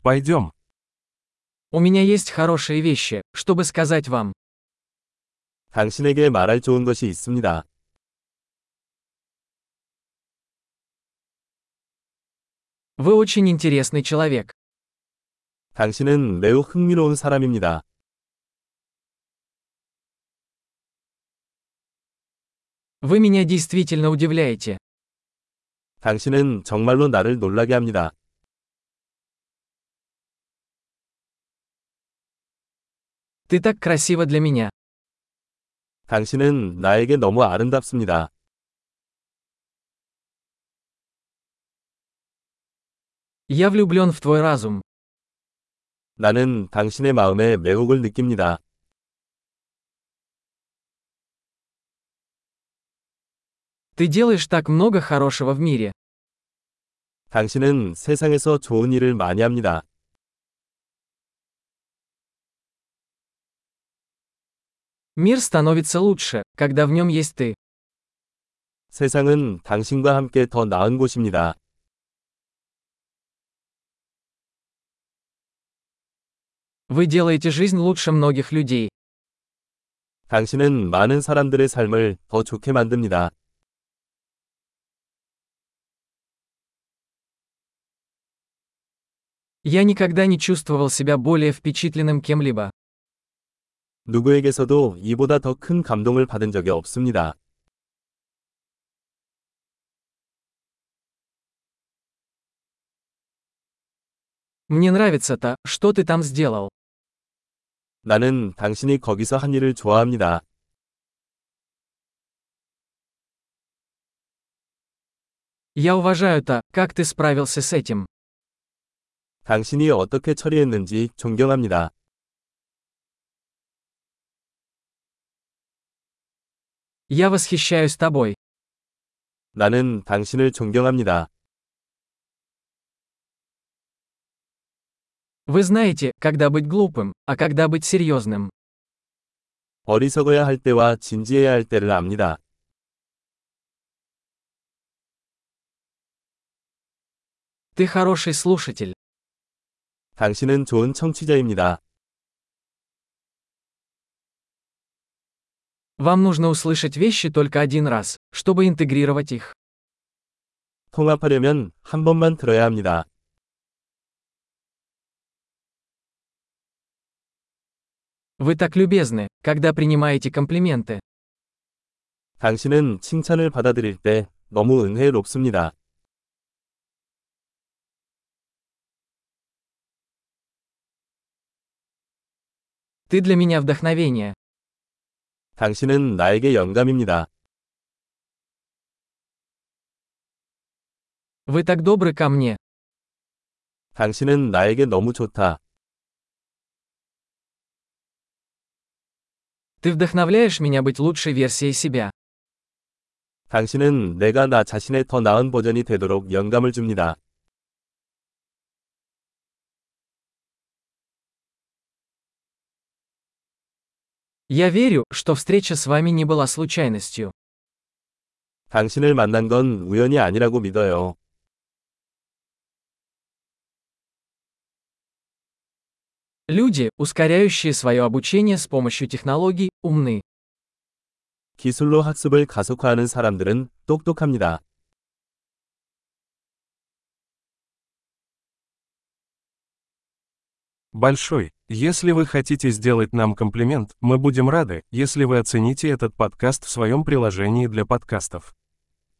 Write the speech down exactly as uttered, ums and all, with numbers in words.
Пойдем. У меня есть хорошие вещи, чтобы сказать вам. 당신에게 말할 좋은 것이 있습니다. Вы очень интересный человек. 당신은 매우 흥미로운 사람입니다. Вы меня действительно удивляете. 당신은 정말로 나를 놀라게 합니다. Ты так красива для меня. 당신은 나에게 너무 아름답습니다. Я влюблен в твой разум. 나는 당신의 마음에 매혹을 느낍니다. Ты делаешь так много хорошего в мире. 당신은 세상에서 좋은 일을 많이 합니다. Мир становится лучше, когда в нем есть ты. 세상은 당신과 함께 더 나은 곳입니다. Вы делаете жизнь лучше многих людей. 당신은 많은 사람들의 삶을 더 좋게 만듭니다. Я никогда не чувствовал себя более впечатленным кем-либо. 누구에게서도 이보다 더 큰 감동을 받은 적이 없습니다. Мне нравится то, что ты там сделал. 나는 당신이 거기서 한 일을 좋아합니다. Я уважаю то, как ты справился с этим. 당신이 어떻게 처리했는지 존경합니다. Я восхищаюсь тобой. 나는 당신을 존경합니다. Вы знаете, когда быть глупым, а когда быть серьезным. 어리석어야 할 때와 진지해야 할 때를 압니다. Ты хороший слушатель. 당신은 좋은 청취자입니다. Вам нужно услышать вещи только один раз, чтобы интегрировать их. 통합하려면 한 번만 들어야 합니다. Вы так любезны, когда принимаете комплименты. 당신은 칭찬을 받아들일 때 너무 은혜롭습니다. Ты для меня вдохновение. 당신은 나에게 영감입니다. Вы так добры ко мне. 당신은 나에게 너무 좋다. Ты вдохновляешь меня быть лучшей версией себя. 당신은 내가 나 자신의 더 나은 버전이 되도록 영감을 줍니다. Я верю, что встреча с вами не была случайностью. 당신을 만난 건 우연이 아니라고 믿어요. Люди, ускоряющие свое обучение с помощью технологий, умны. 기술로 학습을 가속화하는 사람들은 똑똑합니다. Большой. Если вы хотите сделать нам комплимент, мы будем рады, если вы оцените этот подкаст в своем приложении для подкастов.